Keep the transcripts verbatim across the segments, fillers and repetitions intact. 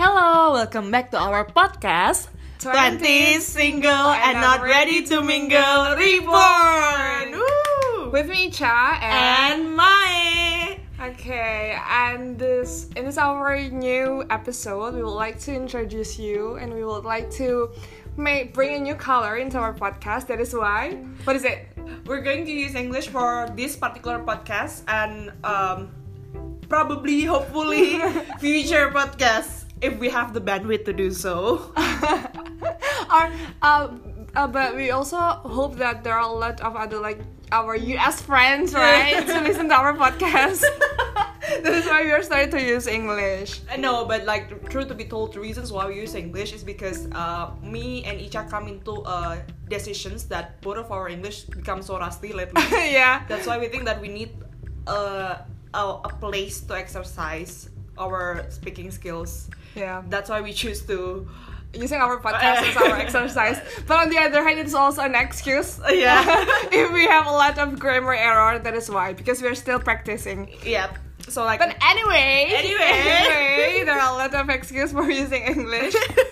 Hello, welcome back to our podcast twenties, single and not ready to mingle, reborn! Woo! With me, Cha, and, And Mai! Okay, and this in this our new episode, we would like to introduce you, and we would like to make bring a new color into our podcast. That is why. What is it? We're going to use English for this particular podcast and um, probably, hopefully, future podcasts if we have the bandwidth to do so. our, uh, uh, but we also hope that there are a lot of other like our U S friends, right, to listen to our podcast. That is why we are starting to use English. No, but like, truth to be told, the reasons why we use English is because uh, me and Icha come into uh, decisions that both of our English become so rusty lately. Yeah. That's why we think that we need uh, a, a place to exercise our speaking skills. Yeah. That's why we choose to Using our podcast as our exercise. But on the other hand, it's also an excuse. Yeah. If we have a lot of grammar error, that is why. Because we're still practicing. Yeah. So like. But anyway. Anyway. anyway there are a lot of excuses for using English.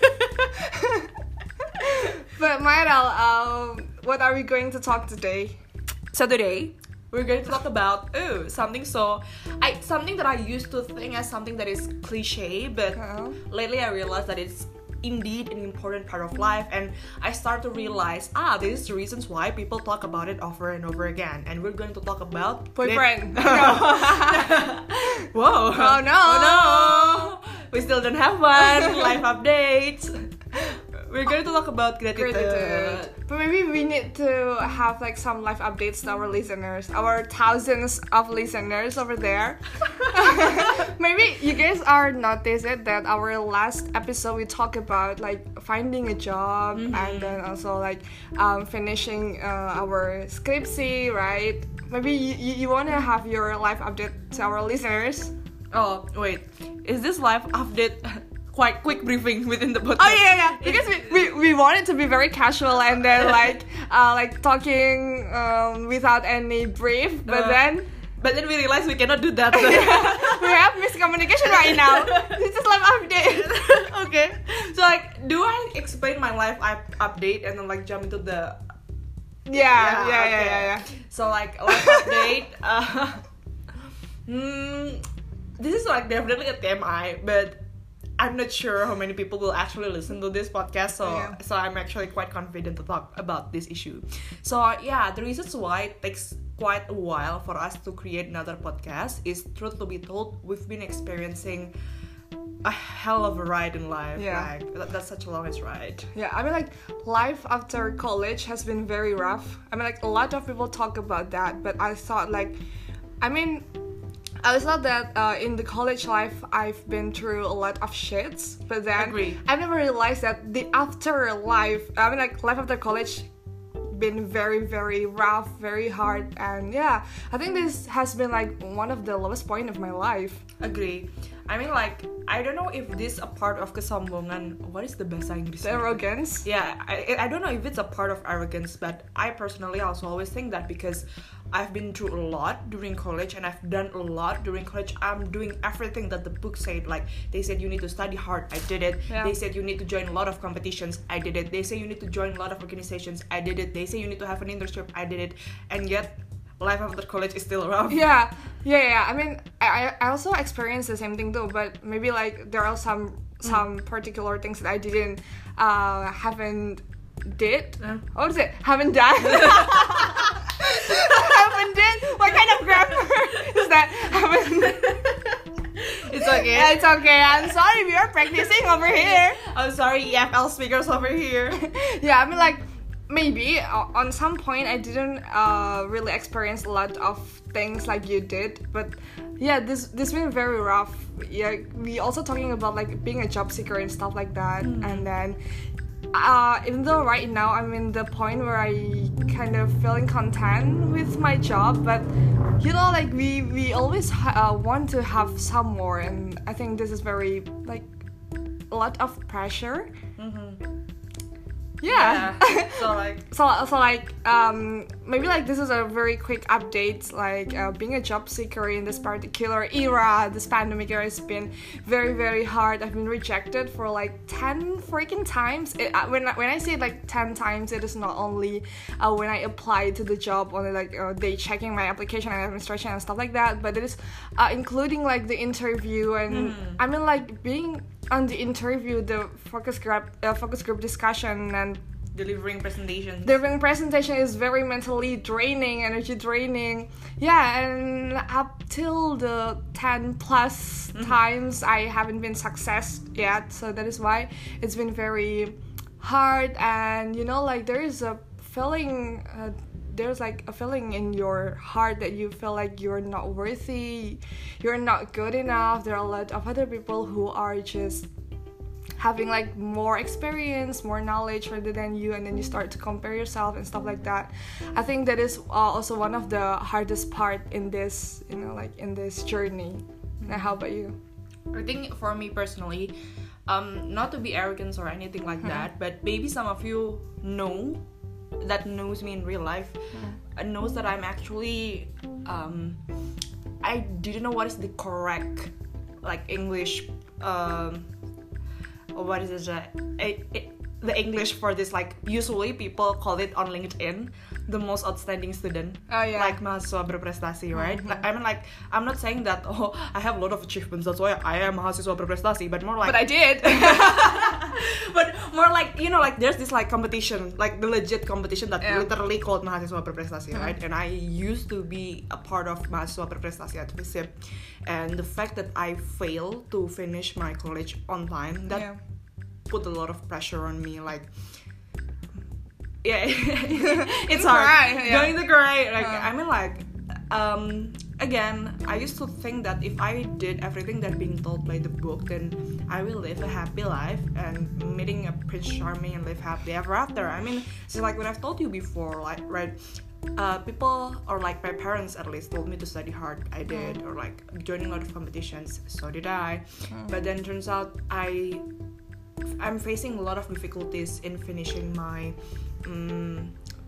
But Mayrel, um, what are we going to talk today? So today we're going to talk about oh something so I something that I used to think as something that is cliche, but Uh-oh. lately I realized that it's indeed an important part of life, and I start to realize ah this is the reasons why people talk about it over and over again, and we're going to talk about Boyfriend. Whoa. Oh no. Oh no. We still don't have one. Life updates. We're going to talk about gratitude. Gratitude. But maybe we need to have like some life updates to our listeners, our thousands of listeners over there. Maybe you guys are noticed it that our last episode we talked about like finding a job, mm-hmm. and then also like um, finishing uh, our skripsi, right? Maybe you, you, you want to have your life update to our listeners. Oh wait, is this life update quite quick briefing within the podcast? Oh yeah, yeah. Because we, we, we want it to be very casual and then like uh, like talking um, without any brief, but uh, then but then we realize we cannot do that. We have miscommunication right now. This is live update. Okay, so like, do I explain my life up- update and then like jump into the yeah yeah yeah okay. yeah, yeah, yeah. So like life update. Uh, mm, this is like definitely a T M I, but I'm not sure how many people will actually listen to this podcast, so yeah. so I'm actually quite confident to talk about this issue. So uh, yeah, the reasons why it takes quite a while for us to create another podcast is, truth to be told, we've been experiencing a hell of a ride in life. Yeah. Like that, that's such a longest ride. Yeah, I mean like life after college has been very rough. I mean like a lot of people talk about that, but I thought like, I mean. I thought that uh, in the college life I've been through a lot of shits, but then Agree. I've never realized that the after life, I mean like life after college, been very very rough, very hard, and yeah, I think this has been like one of the lowest point of my life. Agree. I mean like, I don't know if this a part of kesombongan. What is the bahasa Inggris? The arrogance. Yeah, I I don't know if it's a part of arrogance, but I personally also always think that because I've been through a lot during college and I've done a lot during college. I'm doing everything that the book said. Like, they said you need to study hard, I did it. Yeah. They said you need to join a lot of competitions, I did it. They say you need to join a lot of organizations, I did it. They say you need to have an internship, I did it. And yet, life after college is still rough. Yeah, yeah, yeah. I mean, I I also experienced the same thing too, but maybe like there are some some mm. particular things that I didn't uh haven't did. Uh. What is it? Haven't done. Haven't did. What kind of grammar is that? Haven't. It's okay. Yeah, it's okay. I'm sorry. We are practicing over here. I'm sorry, E F L speakers over here. Yeah, I mean like. Maybe uh, on some point I didn't uh, really experience a lot of things like you did, but yeah, this this been very rough. Yeah, we also talking about like being a job seeker and stuff like that, mm. and then uh, even though right now I'm in the point where I kind of feeling content with my job, but you know like we we always ha- uh, want to have some more, and I think this is very like a lot of pressure. Mm-hmm. Yeah. yeah. So like so so like um maybe like this is a very quick update, like uh, being a job seeker in this particular era, this pandemic era has been very very hard. I've been rejected for like ten freaking times. It, uh, when, when I say like ten times, it is not only uh, when I applied to the job, only like uh, they checking my application and administration and stuff like that, but it is uh, including like the interview and mm. I mean like being on the interview, the focus group uh, focus group discussion and delivering presentations. Delivering presentation is very mentally draining, energy draining. Yeah, and up till the ten plus mm-hmm. times I haven't been success yet, so that is why it's been very hard. And you know, like there is a feeling. Uh, there's like a feeling in your heart that you feel like you're not worthy, you're not good enough. There are a lot of other people who are just having like more experience, more knowledge rather than you, and then you start to compare yourself and stuff like that. I think that is uh, also one of the hardest part in this, you know, like in this journey. Now, how about you? I think for me personally, um, not to be arrogant or anything like mm-hmm. that, but maybe some of you know that knows me in real life mm-hmm. knows that I'm actually um, I didn't know what is the correct like English um, what is it, uh, it, it the English for this, like usually people call it on LinkedIn the most outstanding student, oh, yeah. like mahasiswa berprestasi, right? Mm-hmm. Like, I mean, like I'm not saying that oh I have a lot of achievements, that's why I am mahasiswa berprestasi, but more like but I did but more like, you know, like there's this like competition, like the legit competition that yeah. literally called mahasiswa berprestasi, mm-hmm. right? And I used to be a part of mahasiswa berprestasi at FISIP, and the fact that I failed to finish my college on time, that yeah. put a lot of pressure on me, like yeah it's hard cry, yeah. going to cry like uh. I mean like um again I used to think that if I did everything that being told by the book, then I will live a happy life and meeting a Prince Charming and live happily ever after. I mean, it's like when I've told you before, like right uh people, or like my parents at least, told me to study hard. I did, or like joining a lot of competitions, so did I. mm. But then turns out I I'm facing a lot of difficulties in finishing my um,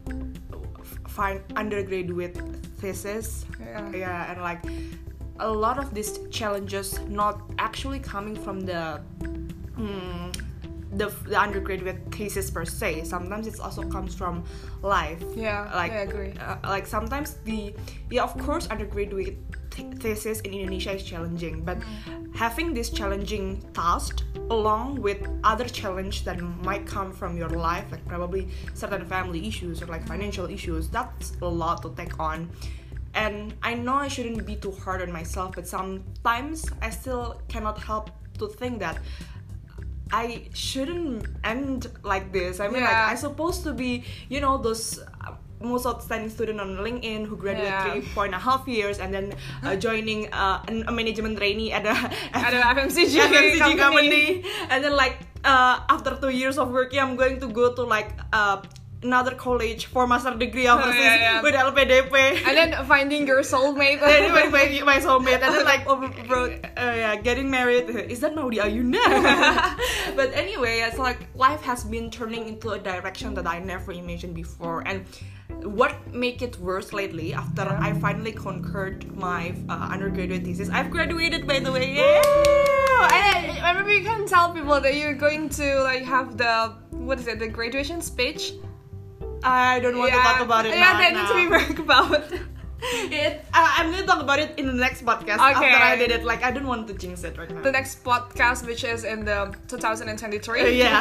fine undergraduate thesis. Yeah. yeah, and like a lot of these challenges not actually coming from the um, the, the undergraduate thesis per se. Sometimes it also comes from life. Yeah, like I agree. Uh, like sometimes the yeah, of course, undergraduate th- thesis in Indonesia is challenging, but mm. having this challenging task along with other challenge that might come from your life, like probably certain family issues or like financial issues, that's a lot to take on. And I know I shouldn't be too hard on myself, but sometimes I still cannot help to think that I shouldn't end like this. I mean, yeah. like I'm supposed to be, you know, those uh, most outstanding student on LinkedIn who graduated yeah. three four and a half years and then uh, joining uh, a management trainee at a at a F M C G, F M C G company. company, and then like uh, after two years of working, I'm going to go to like uh, another college for master degree overseas oh, yeah, yeah. with L P D P, and then finding your soulmate. and then my, my soulmate, and then like bro, uh, yeah, getting married. Is that Maudy Ayunda? But anyway, it's like life has been turning into a direction that I never imagined before, and what make it worse lately, after yeah. I finally conquered my uh, undergraduate thesis, I've graduated, by the way. Yeah. And I remember you can tell people that you're going to like have the, what is it, the graduation speech. I don't want yeah. to talk about it yeah, now. Yeah, that needs to be talked about. It, uh, I'm going to talk about it in the next podcast okay. after I did it. Like, I don't want to jinx it right now. The next podcast, which is in the twenty twenty-three. Uh, yeah.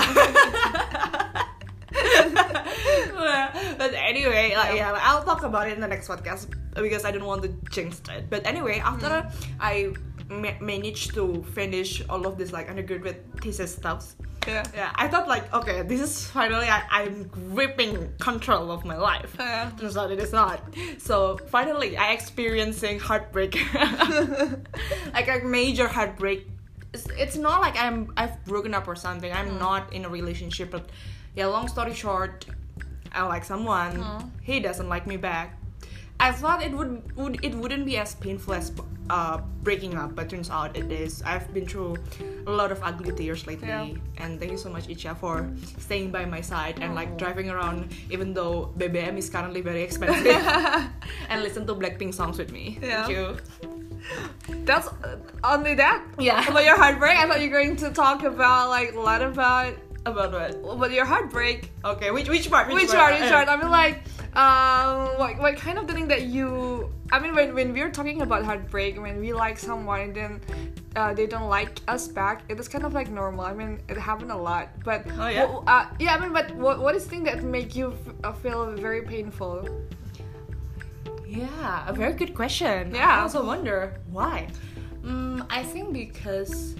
But anyway, like, yeah, like, I'll talk about it in the next podcast because I don't want to jinx it. But anyway, after mm. I ma- managed to finish all of this like undergraduate thesis stuff, yeah, yeah, I thought like, okay, this is finally I- I'm gripping control of my life. Yeah. Turns out it is not. So finally, I experiencing heartbreak, like a major heartbreak. It's, it's not like I'm I've broken up or something. I'm mm. not in a relationship, but yeah, long story short, I like someone. Mm. He doesn't like me back. I thought it would, would it wouldn't be as painful as uh, breaking up, but turns out it is. I've been through a lot of ugly tears lately, Yeah. and thank you so much, Icha, for staying by my side and like Oh. driving around, even though B B M is currently very expensive, and listen to Blackpink songs with me. Yeah. Thank you. That's uh, only that. Yeah. About your heartbreak, I thought you were going to talk about like a lot about About what? about your heartbreak. Okay, which which part? Which part? Which part? I mean, like, um, what what kind of the thing that you? I mean, when when we're talking about heartbreak, when we like someone and then uh, they don't like us back, it is kind of like normal. I mean, it happened a lot. But Oh, yeah? wh- uh, yeah. I mean, but what what is the thing that make you f- uh, feel very painful? Yeah, a very good question. Yeah. I also wonder why. Mm, I think because,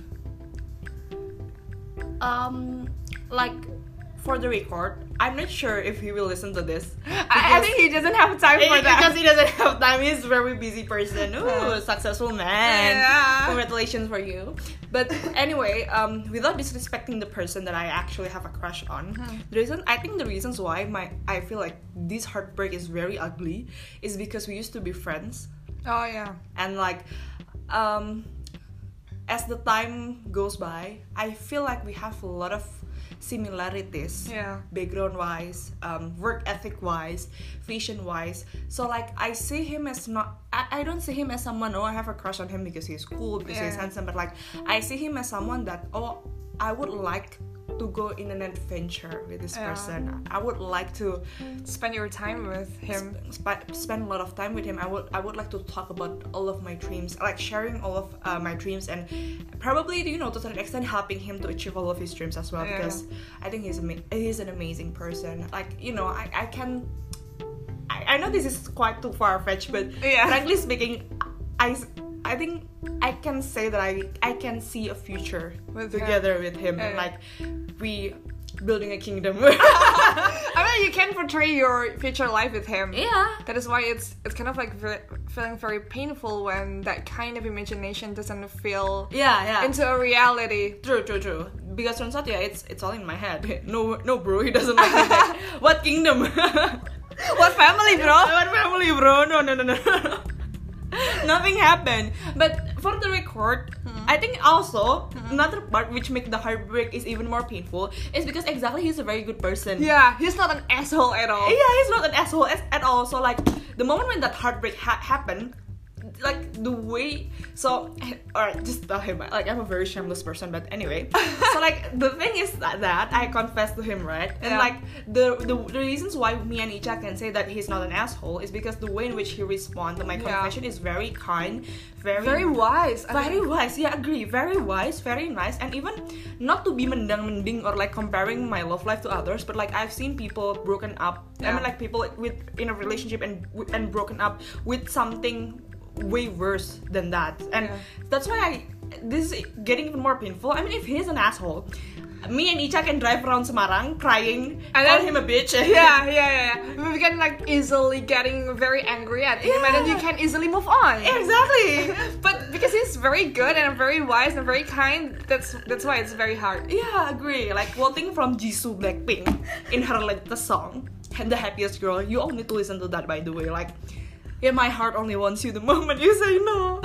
um, like, for the record, I'm not sure if he will listen to this. I, I think he doesn't have time for that. Because he doesn't have time. He's a very busy person. Ooh, successful man. Yeah. Congratulations for you. But anyway, um, without disrespecting the person that I actually have a crush on, the reason I think the reasons why my I feel like this heartbreak is very ugly is because we used to be friends, Oh yeah. and like, um, as the time goes by, I feel like we have a lot of similarities, Yeah. background wise, um, work ethic wise, vision wise. So like I see him as not I, I don't see him as someone, oh, I have a crush on him because he's cool, because he's Yeah. handsome, but like I see him as someone that, oh, I would like to go in an adventure with this Yeah. person. I would like to Spend your time with him. sp- spend a lot of time with him. I would I would like to talk about all of my dreams, like sharing all of uh, my dreams, and probably, you know, to a certain extent helping him to achieve all of his dreams as well. Yeah. Because I think he's ama- he's an amazing person. Like, you know, I I can I, I know this is quite too far fetched, but Yeah. frankly speaking, I I think I can say that I I can see a future With him. together with him, Yeah. like we building a kingdom. I mean, you can portray your future life with him. Yeah. That is why it's it's kind of like ve- feeling very painful when that kind of imagination doesn't feel Yeah, yeah. into a reality. True, true, true. Because turns out, yeah, it's it's all in my head. No, no, bro, he doesn't like me back. What kingdom? What family, bro? What family, bro? No, no, no, no. Nothing happened. But for the record, I think also another part which makes the heartbreak is even more painful is because exactly he's a very good person. Yeah, he's not an asshole at all. Yeah, he's not an asshole at, at all. So like the moment when that heartbreak ha- happened, like the way, so alright, just tell him, like I'm a very shameless person, but anyway. So like the thing is that, that I confessed to him, right? And Yeah. like the, the the reasons why me and Icha can say that he's not an asshole is because the way in which he responds to my Yeah. confession is very kind, very Very wise. I very think. wise. Yeah, agree. Very wise, very nice, and even not to be mendang-mending or like comparing my love life to others, but like I've seen people broken up. I Yeah. mean, like people with in a relationship and and broken up with something way worse than that, and Yeah. that's why I this is getting even more painful. I mean, if he's an asshole, me and Icha can drive around Semarang crying, And call then- him a bitch. Yeah, yeah, yeah, yeah. We can like easily getting very angry at him, and then you Yeah. can easily move on. Exactly. But because he's very good and very wise and very kind, that's that's why it's very hard. Yeah, agree. Like quoting from Jisoo Blackpink in her latest song, "The Happiest Girl." You all need to listen to that, by the way. Like, yeah, my heart only wants you the moment you say no.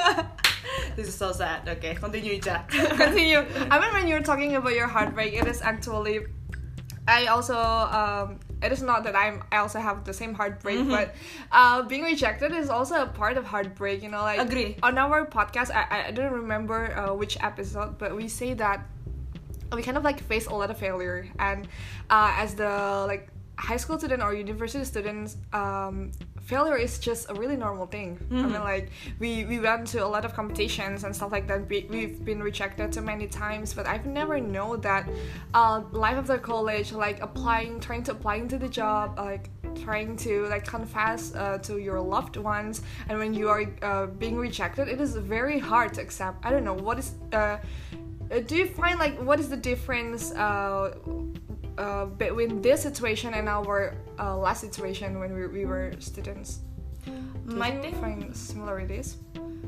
This is so sad. Okay, continue, Icha. Continue. I mean, when you're talking about your heartbreak, it is actually. I also. Um, it is not that I'm. I also have the same heartbreak, Mhm. but uh, being rejected is also a part of heartbreak. You know, like Agree. on our podcast. I I don't remember uh, which episode, but we say that we kind of like face a lot of failure, and uh, as the like high school student or university students, um, failure is just a really normal thing. I Mhm. mean, like we we went to a lot of competitions and stuff like that. We, we've been rejected so many times, but I've never known that uh, life after college, like applying, trying to apply into the job, like trying to like confess uh, to your loved ones, and when you are uh, being rejected, it is very hard to accept. I don't know what is. Uh, uh, do you find like what is the difference uh, uh, between this situation and our uh, last situation when we, we were students? Do My you thing- find similarities?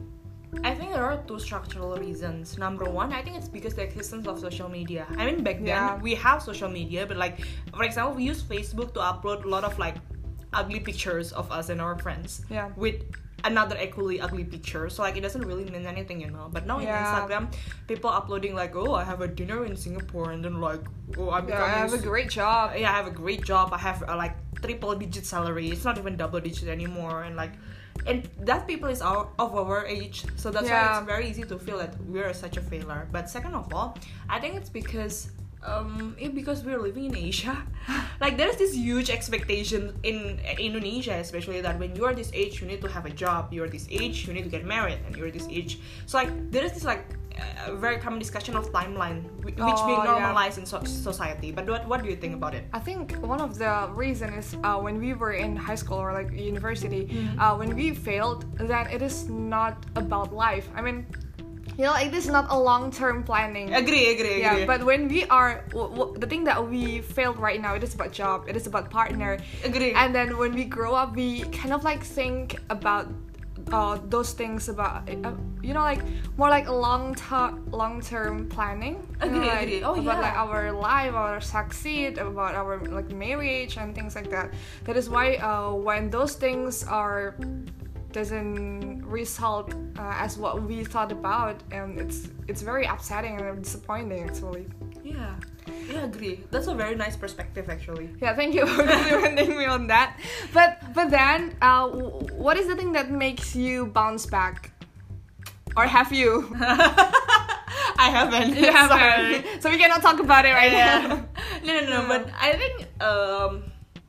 I think there are two structural reasons. Number one, I think it's because the existence of social media. I mean, back then Yeah. we have social media, but like, for example, we use Facebook to upload a lot of like ugly pictures of us and our friends Yeah. with another equally ugly picture, so like it doesn't really mean anything, you know. But now in Yeah. Instagram, people uploading like, oh, I have a dinner in Singapore, and then like, oh, I'm Yeah, I have a great job. yeah, I have a great job. I have uh, like triple digit salary. It's not even double digit anymore, and like, and that people is our, of our age, so that's Yeah. why it's very easy to feel that we're such a failure. But second of all, I think it's because um it, because we're living in Asia. Like there's this huge expectation in Indonesia, especially, that when you're this age you need to have a job, you're this age you need to get married, and you're this age, so like there is this like a very common discussion of timeline whi- which Oh, being yeah. normalized in so- society. But what what do you think about it? I think one of the reason is uh, when we were in high school or like university, Mm-hmm. uh, when we failed, then it is not about life. I mean, you know, like this is not a long-term planning. Agree, agree, agree. Yeah, but when we are, w- w- the thing that we failed right now, it is about job, it is about partner. Agree. And then when we grow up, we kind of like think about uh, those things about, uh, you know, like more like a long term, long term planning. You know, Agree, like, agree. Oh, about yeah. like our life, our succeed, about our like marriage and things like that. That is why uh, when those things are doesn't result uh, as what we thought about, and it's it's very upsetting and disappointing actually. Yeah, yeah, agree. That's a very nice perspective, actually. Yeah, thank you for complimenting me on that. But but then, uh, w- what is the thing that makes you bounce back, or have you? I haven't. You Sorry. haven't. So we cannot talk about it right Yeah. now. No, no, no. But I think um,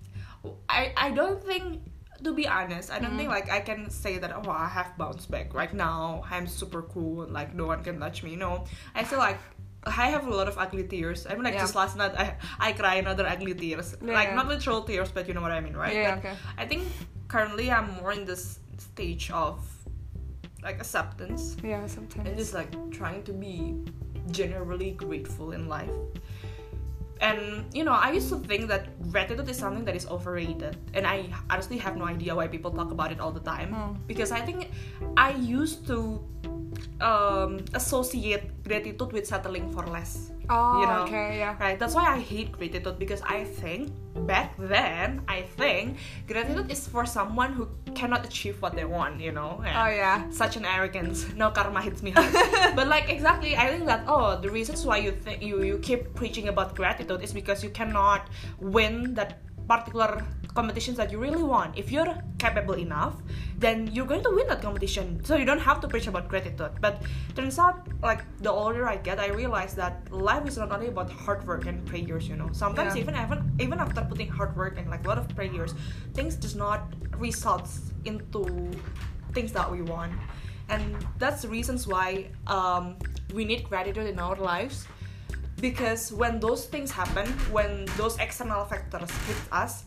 I I don't think. To be honest, I don't think like I can say that, oh, I have bounced back right now. I'm super cool and like no one can touch me. No, I feel like I have a lot of ugly tears. I mean, like Yeah. just last night I I cry another ugly tears. Yeah. Like not literal tears, but you know what I mean, right? Yeah, But okay. I think currently I'm more in this stage of like acceptance Yeah, sometimes. and just like trying to be generally grateful in life. And you know, I used to think that gratitude is something that is overrated, and I honestly have no idea why people talk about it all the time. Mm. Because I think I used to um, associate gratitude with settling for less. Oh, you know? okay, yeah. Right, that's why I hate gratitude, because I think back then I think gratitude is for someone who cannot achieve what they want, you know. And Oh, yeah. such an arrogance. No karma hits me hard. But like exactly, I think that oh, the reasons why you think you you keep preaching about gratitude is because you cannot win that particular competitions that you really want. If you're capable enough, then you're going to win that competition. So you don't have to preach about gratitude. But turns out, like the older I get, I realize that life is not only about hard work and prayers. You know, sometimes Yeah. even even even after putting hard work and like a lot of prayers, things does not result into things that we want. And that's the reasons why um, we need gratitude in our lives. Because when those things happen, when those external factors hit us,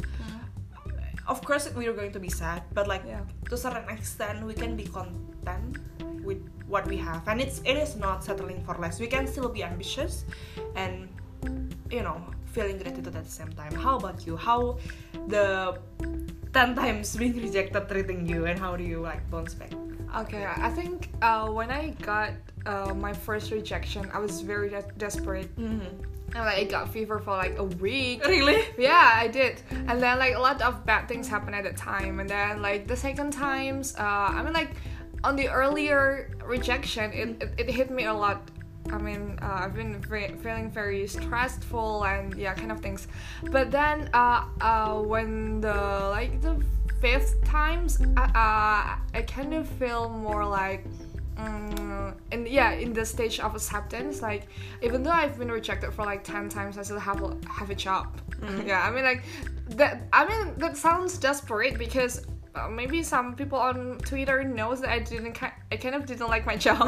of course we are going to be sad, but like Yeah. to a certain extent we can be content with what we have, and it's it is not settling for less. We can still be ambitious and you know feeling gratitude at the same time. How about you? How the ten times being rejected treating you, and how do you like bounce back? Okay, I think uh, when I got uh, my first rejection, I was very de- desperate. Mm-hmm. And like, I got fever for like a week. Really? Yeah, I did. And then like a lot of bad things happened at the time. And then like the second times, uh, I mean like on the earlier rejection, it, it, it hit me a lot. I mean, uh, I've been ve- feeling very stressful and yeah, kind of things. But then uh, uh, when the like the fifth times, uh, uh, I kind of feel more like. Um, and yeah, in the stage of acceptance, like even though I've been rejected for like ten times, I still have a, have a job. Mm-hmm. Yeah, I mean like that. I mean that sounds desperate because uh, maybe some people on Twitter knows that I didn't. Ki- I kind of didn't like my job.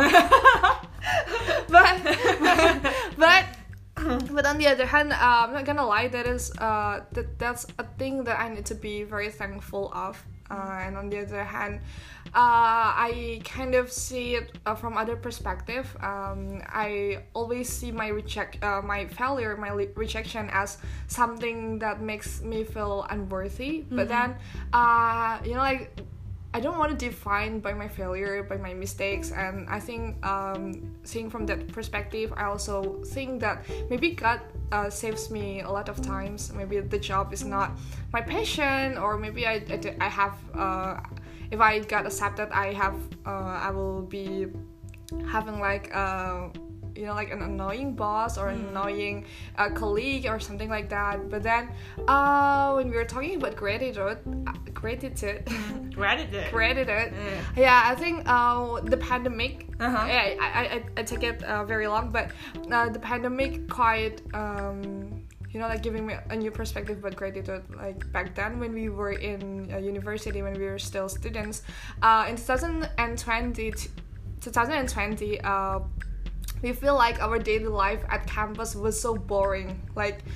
but but. But on the other hand, uh, I'm not gonna lie. That is, uh, that that's a thing that I need to be very thankful of. Uh, and on the other hand, uh, I kind of see it uh, from other perspective. Um, I always see my reject, uh, my failure, my le- rejection as something that makes me feel unworthy. Mm-hmm. But then, uh, you know, like I don't want to define by my failure, by my mistakes, and I think um, seeing from that perspective, I also think that maybe God uh, saves me a lot of times. Maybe the job is not my passion, or maybe I I, I have uh, if I got accepted, I have uh, I will be having like uh, you know like an annoying boss or an mm. annoying uh, colleague or something like that. But then uh, when we were talking about gratitude, uh, gratitude, gratitude, gratitude, yeah. yeah, I think uh, the pandemic. Uh-huh. Yeah, I, I I take it uh, very long, but uh, the pandemic quite. Um, You know, like giving me a new perspective about gratitude. Like back then, when we were in uh, university, when we were still students, uh, in twenty twenty, twenty twenty, uh, we feel like our daily life at campus was so boring. Like,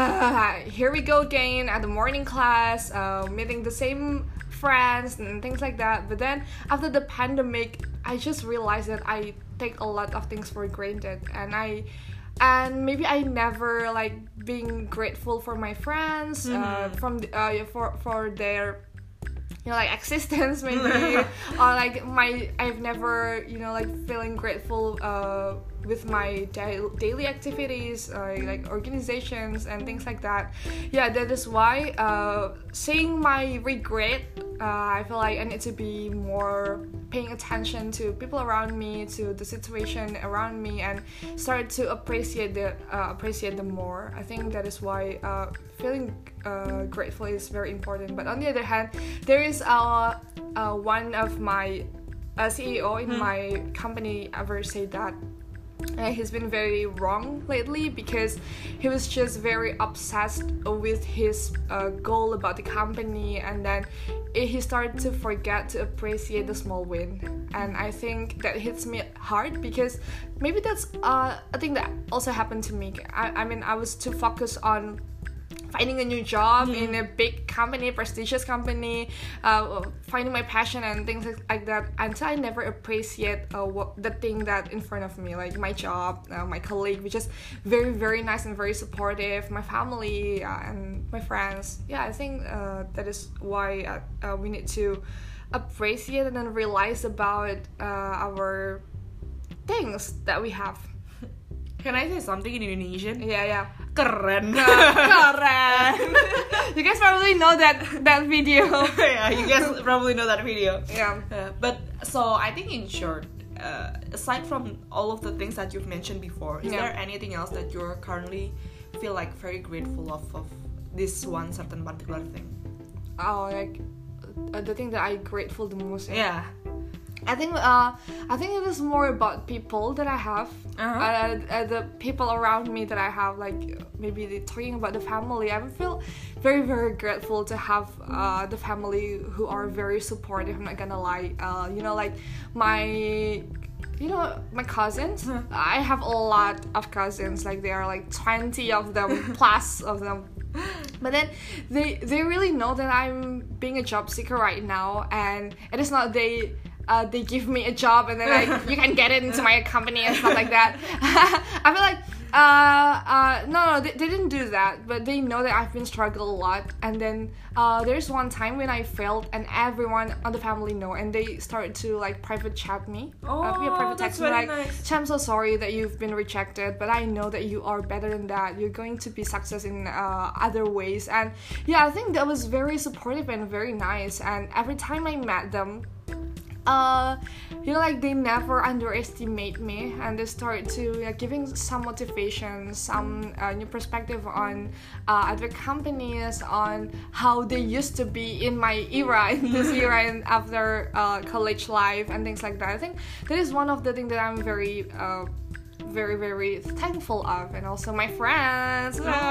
uh, here we go again at the morning class, uh, meeting the same friends and things like that. But then after the pandemic, I just realized that I take a lot of things for granted, and I. And maybe I never like being grateful for my friends, mm-hmm. uh, from the, uh, for for their, you know, like existence maybe, or like my I've never you know like feeling grateful uh, with my da- daily activities, uh, like organizations and things like that. Yeah, that is why uh, seeing my regret, uh, I feel like I need to be more paying attention to people around me, to the situation around me, and start to appreciate the uh, appreciate them more. I think that is why uh, feeling uh, grateful is very important. But on the other hand, there is uh, uh, one of my uh, C E O in mm. my company ever said that Uh, he's been very wrong lately because he was just very obsessed with his uh, goal about the company, and then it, he started to forget to appreciate the small win. And I think that hits me hard because maybe that's uh, a thing that also happened to me. I, I mean, I was too focused on finding a new job mm. in a big company, prestigious company, uh, finding my passion and things like that, until I never appreciate uh, what, the thing that in front of me, like my job, uh, my colleague, which is very, very nice and very supportive, my family uh, and my friends. Yeah, I think uh, that is why uh, uh, we need to appreciate and then realize about uh, our things that we have. Can I say something in Indonesian? Yeah, yeah. Keren. Keren. You guys probably know that that video. Yeah, you guys probably know that video. Yeah. Uh, but so I think in short, uh, aside from all of the things that you've mentioned before, is yeah. there anything else that you're currently feel like very grateful of of this one certain particular thing? Oh, like uh, the thing that I'm grateful the most. Yeah. I think uh, I think it is more about people that I have, uh-huh. uh, uh, the people around me that I have. Like maybe talking about the family, I feel very very grateful to have uh, the family who are very supportive. I'm not gonna lie, uh, you know, like my. You know, my cousins, I have a lot of cousins, like there are like twenty of them, plus of them. But then they they really know that I'm being a job seeker right now, and it is not they uh, they give me a job and then like you can get it into my company and stuff like that. I feel like uh, uh, no no they, they didn't do that, but they know that I've been struggling a lot. And then uh, there's one time when I failed and everyone on the family know, and they started to like private chat me. Oh, uh, yeah, private that's text me very like, nice. I'm so sorry that you've been rejected, but I know that you are better than that. You're going to be success in uh, other ways. And yeah, I think that was very supportive and very nice. And every time I met them, uh, you know, like they never underestimate me, and they start to like, giving some motivation, some uh, new perspective on uh, other companies, on how they used to be in my era, in this era, and after uh, college life and things like that. I think that is one of the things that I'm very. Uh, very very thankful of. And also my friends. Oh.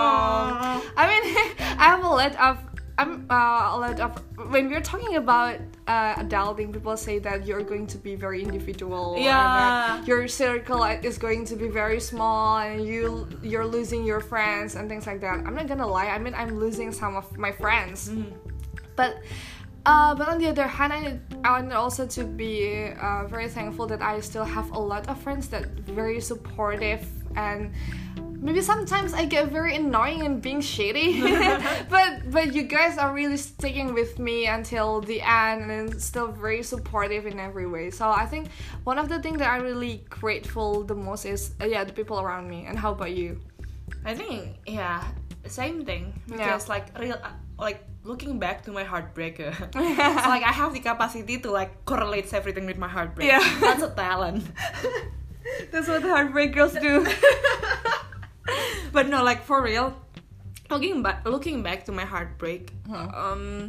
I mean I have a lot of I'm uh, a lot of when we're talking about uh, adulting, people say that you're going to be very individual, yeah, and that your circle is going to be very small, and you you're losing your friends and things like that. I'm not gonna lie, I mean I'm losing some of my friends, mm. but Uh, but on the other hand, I, I want also to be uh, very thankful that I still have a lot of friends that very supportive, and maybe sometimes I get very annoying and being shady, but but you guys are really sticking with me until the end and still very supportive in every way. So I think one of the things that I'm really grateful the most is uh, yeah the people around me. And how about you? I think yeah, same thing because Yeah. like real uh, like looking back to my heartbreaker, it's like I have the capacity to like correlate everything with my heartbreak. Yeah. That's a talent. That's what heartbreak girls do. But no, like for real, looking back, looking back to my heartbreak, Huh. um,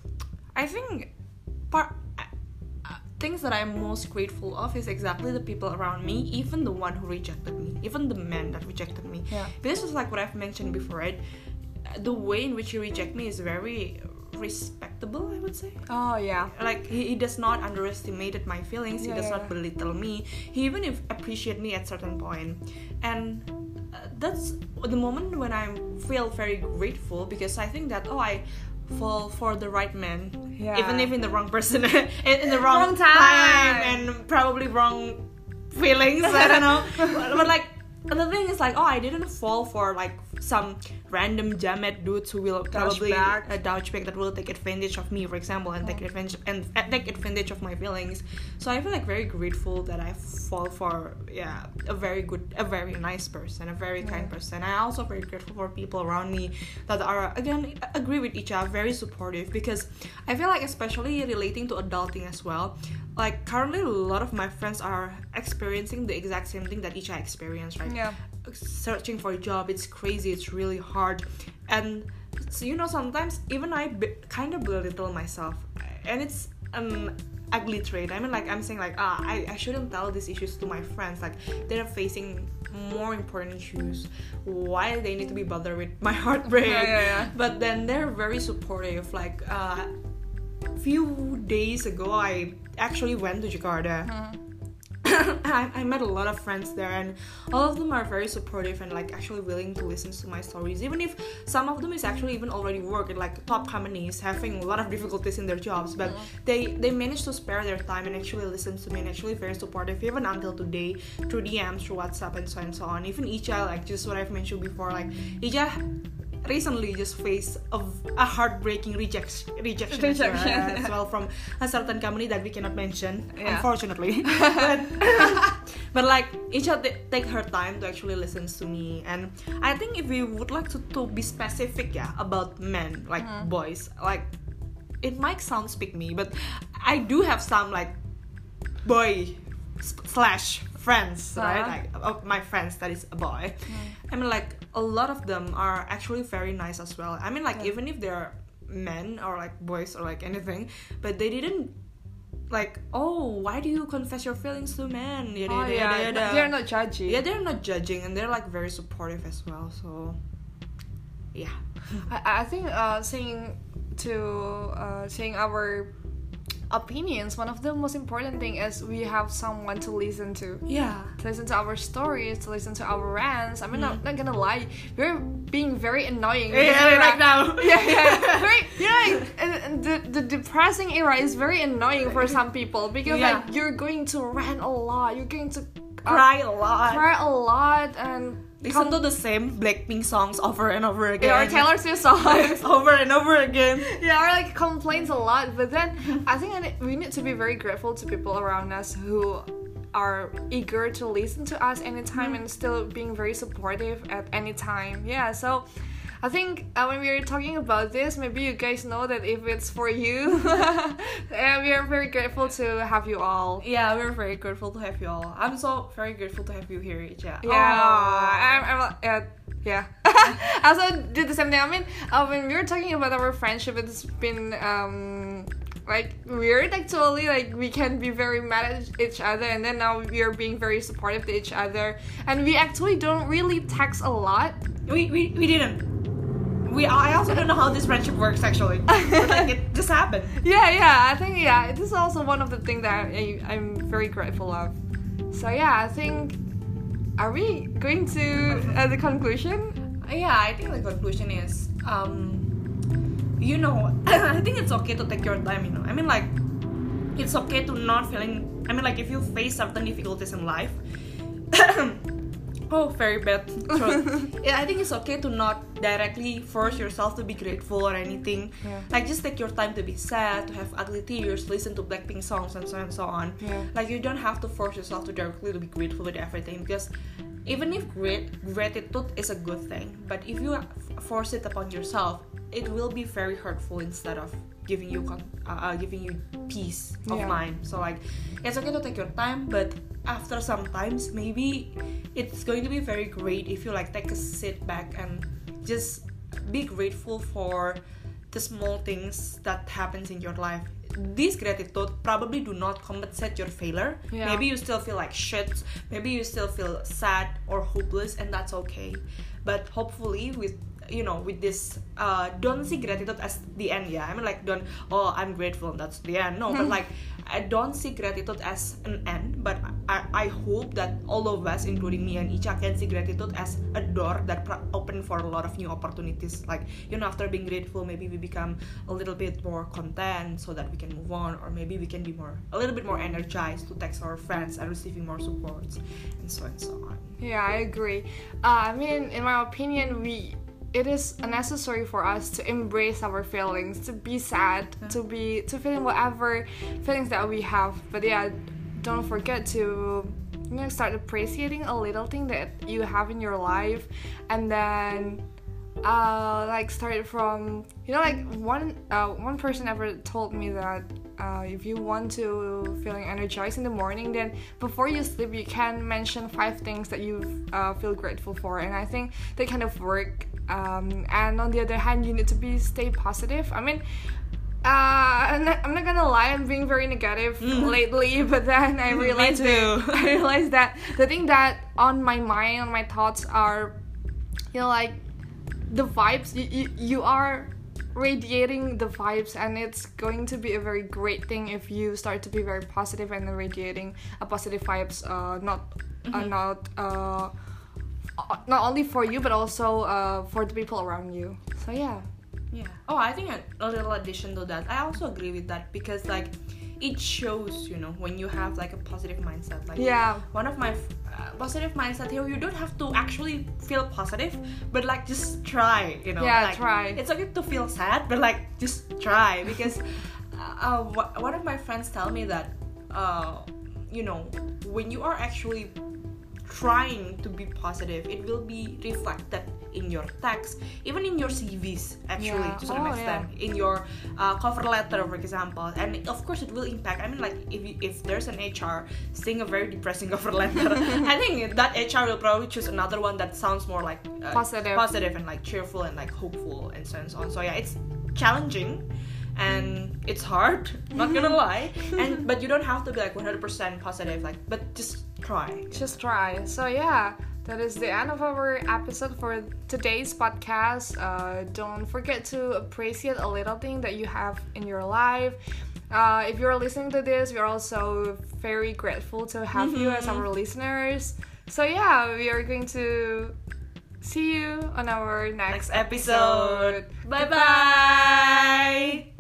I think part uh, uh, things that I'm most grateful of is exactly the people around me, even the one who rejected me, even the man that rejected me. Yeah. This is like what I've mentioned before, right? The way in which he reject me is very respectable, I would say. Oh yeah. Like he, he does not underestimate my feelings. He Yeah, does yeah. not belittle me. He even if appreciate me at certain point, and uh, that's the moment when I feel very grateful because I think that oh I fall for the right man, Yeah. even if in the wrong person, in, in the wrong, Wrong time. and probably wrong feelings. I don't know, but, but like. The thing is like, oh, I didn't fall for like some random jamet dudes who will probably Douchebag. a douchebag that will take advantage of me, for example, and take advantage and uh, take advantage of my feelings. So I feel like very grateful that I fall for yeah a very good, a very nice person, a very kind person. And I also very grateful for people around me that are again agree with each other, very supportive because I feel like especially relating to adulting as well. Like currently, a lot of my friends are experiencing the exact same thing that each I experienced, right? Yeah. Searching for a job, it's crazy, it's really hard, and so you know sometimes even I be- kind of belittle myself, and it's an ugly trait. I mean, like I'm saying, like ah, I, I shouldn't tell these issues to my friends. Like they're facing more important issues. Why they need to be bothered with my heartbreak? Yeah, yeah, yeah. But then they're very supportive. Like uh, few days ago, I actually went to Jakarta. Hmm. I, I met a lot of friends there, and all of them are very supportive and like actually willing to listen to my stories, even if some of them is actually even already work at like top companies having a lot of difficulties in their jobs, but they they manage to spare their time and actually listen to me and actually very supportive even until today through D Ms, through WhatsApp and so on and so on. Even Ija, like just what I've mentioned before, like Ija recently just faced a, a heartbreaking rejection rejection as well, Rejection. as well from a certain company that we cannot mention, Yeah. unfortunately. but, but like each of the, take her time to actually listen to me, and I think if we would like to, to be specific, yeah, about men like boys, like it might sound pick me, but I do have some like boy slash friends, right? Uh-huh. Like of my friends that is a boy. I mean, like a lot of them are actually very nice as well. I mean, like Yeah. even if they're men or like boys or like anything, but they didn't like, oh, why do you confess your feelings to men? Yada, Oh yada, yeah. yada, yada. They're not judgy. Yeah, they're not judging, and they're like very supportive as well. So, yeah. I, I think uh, saying to uh, saying our opinions, one of the most important thing is we have someone to listen to. Yeah. To listen to our stories, to listen to our rants. I mean, I'm not gonna lie, we're being very annoying. because Yeah, we're right like- now. Yeah, yeah. Very, you know, like, and, and the, the depressing era is very annoying for some people because Yeah. like you're going to rant a lot, you're going to uh, Cry a lot. cry a lot, and Listen to the same Blackpink songs over and over again. yeah, or Taylor Swift songs. over and over again. Yeah, or like complains a lot. But then I think I ne- we need to be very grateful to people around us who are eager to listen to us anytime and still being very supportive at any time. Yeah, so I think uh, when we are talking about this, maybe you guys know that if it's for you, and we are very grateful to have you all. Yeah, we're very grateful to have you all. I'm so very grateful to have you here, Ija. Yeah, I'm, I'm, uh, yeah. I also did the same thing. I mean, uh, when we were talking about our friendship, it's been um like weird actually. Like we can be very mad at each other, and then now we are being very supportive to each other, and we actually don't really text a lot. We, we, we didn't. We, I also don't know how this friendship works actually. But like it just happened. Yeah, yeah. I think yeah, this is also one of the things that I, I'm very grateful of. So yeah, I think. Are we going to uh, the conclusion? Yeah, I think the conclusion is, um, you know, I think it's okay to take your time, you know. I mean, like, it's okay to not feeling, I mean, like, if you face certain difficulties in life, Oh, very bad truth. Yeah, I think it's okay to not directly force yourself to be grateful or anything. Yeah. Like, just take your time to be sad, to have ugly tears, listen to Blackpink songs, and so on and so on. Yeah. Like, you don't have to force yourself to directly to be grateful with everything, because even if grat- gratitude is a good thing, but if you force it upon yourself, it will be very hurtful instead of giving you con- uh, uh, giving you peace of Yeah. mind. So like, it's okay to take your time, but after some times, maybe it's going to be very great if you like take a sit back and just be grateful for the small things that happens in your life. This gratitude probably do not compensate your failure. Yeah. Maybe you still feel like shit, maybe you still feel sad or hopeless, and that's okay. But hopefully with you know with this uh don't see gratitude as the end. Yeah, I mean, like, don't, oh, I'm grateful and that's the end. No, but like, I don't see gratitude as an end, but I, I hope that all of us, including me and Icha, can see gratitude as a door that pro- open for a lot of new opportunities. Like, you know, after being grateful, maybe we become a little bit more content so that we can move on, or maybe we can be more a little bit more energized to text our friends and receiving more supports, and so and so on. Yeah, I agree. Uh, I mean, in my opinion, we it is necessary for us to embrace our feelings, to be sad, Yeah. to be to feeling whatever feelings that we have. But yeah, don't forget to you know start appreciating a little thing that you have in your life, and then uh like start from you know like one uh one person ever told me that uh if you want to feeling energized in the morning, then before you sleep you can mention five things that you uh, feel grateful for, and I think they kind of work. Um and on the other hand, you need to be stay positive. I mean, Uh, I'm not, I'm not gonna lie, I'm being very negative Mm. lately, but then I Me realized too. I realized that the thing that on my mind, on my thoughts are, you know, like the vibes. You, you, you are radiating the vibes, and it's going to be a very great thing if you start to be very positive and then radiating a positive vibes. Uh, not, uh, Mhm. not, uh, uh, not only for you but also uh for the people around you. So yeah. Yeah. Oh, I think a, a little addition to that, I also agree with that, because like it shows, you know, when you have like a positive mindset. Like, Yeah. one of my uh, positive mindset here, you don't have to actually feel positive, but like just try, you know. Yeah, like, try. It's okay to feel sad, but like just try, because uh, uh, one of my friends tell me that uh, you know, when you are actually trying to be positive, it will be reflected in your text, even in your C Vs, actually, Yeah. to some Oh, extent, in your uh, cover letter, for example. And of course it will impact. I mean, like, if you, if there's an H R seeing a very depressing cover letter, I think that H R will probably choose another one that sounds more like uh, Positive. positive and like cheerful and like hopeful and so and so on. So yeah, it's challenging and it's hard, not gonna lie, and but you don't have to be like one hundred percent positive, like, but just try. Just try. So yeah, that is the end of our episode for today's podcast. Uh, don't forget to appreciate a little thing that you have in your life. Uh, if you're listening to this, we're also very grateful to have you as our listeners. So yeah, we are going to see you on our next, Next episode. episode. Bye bye.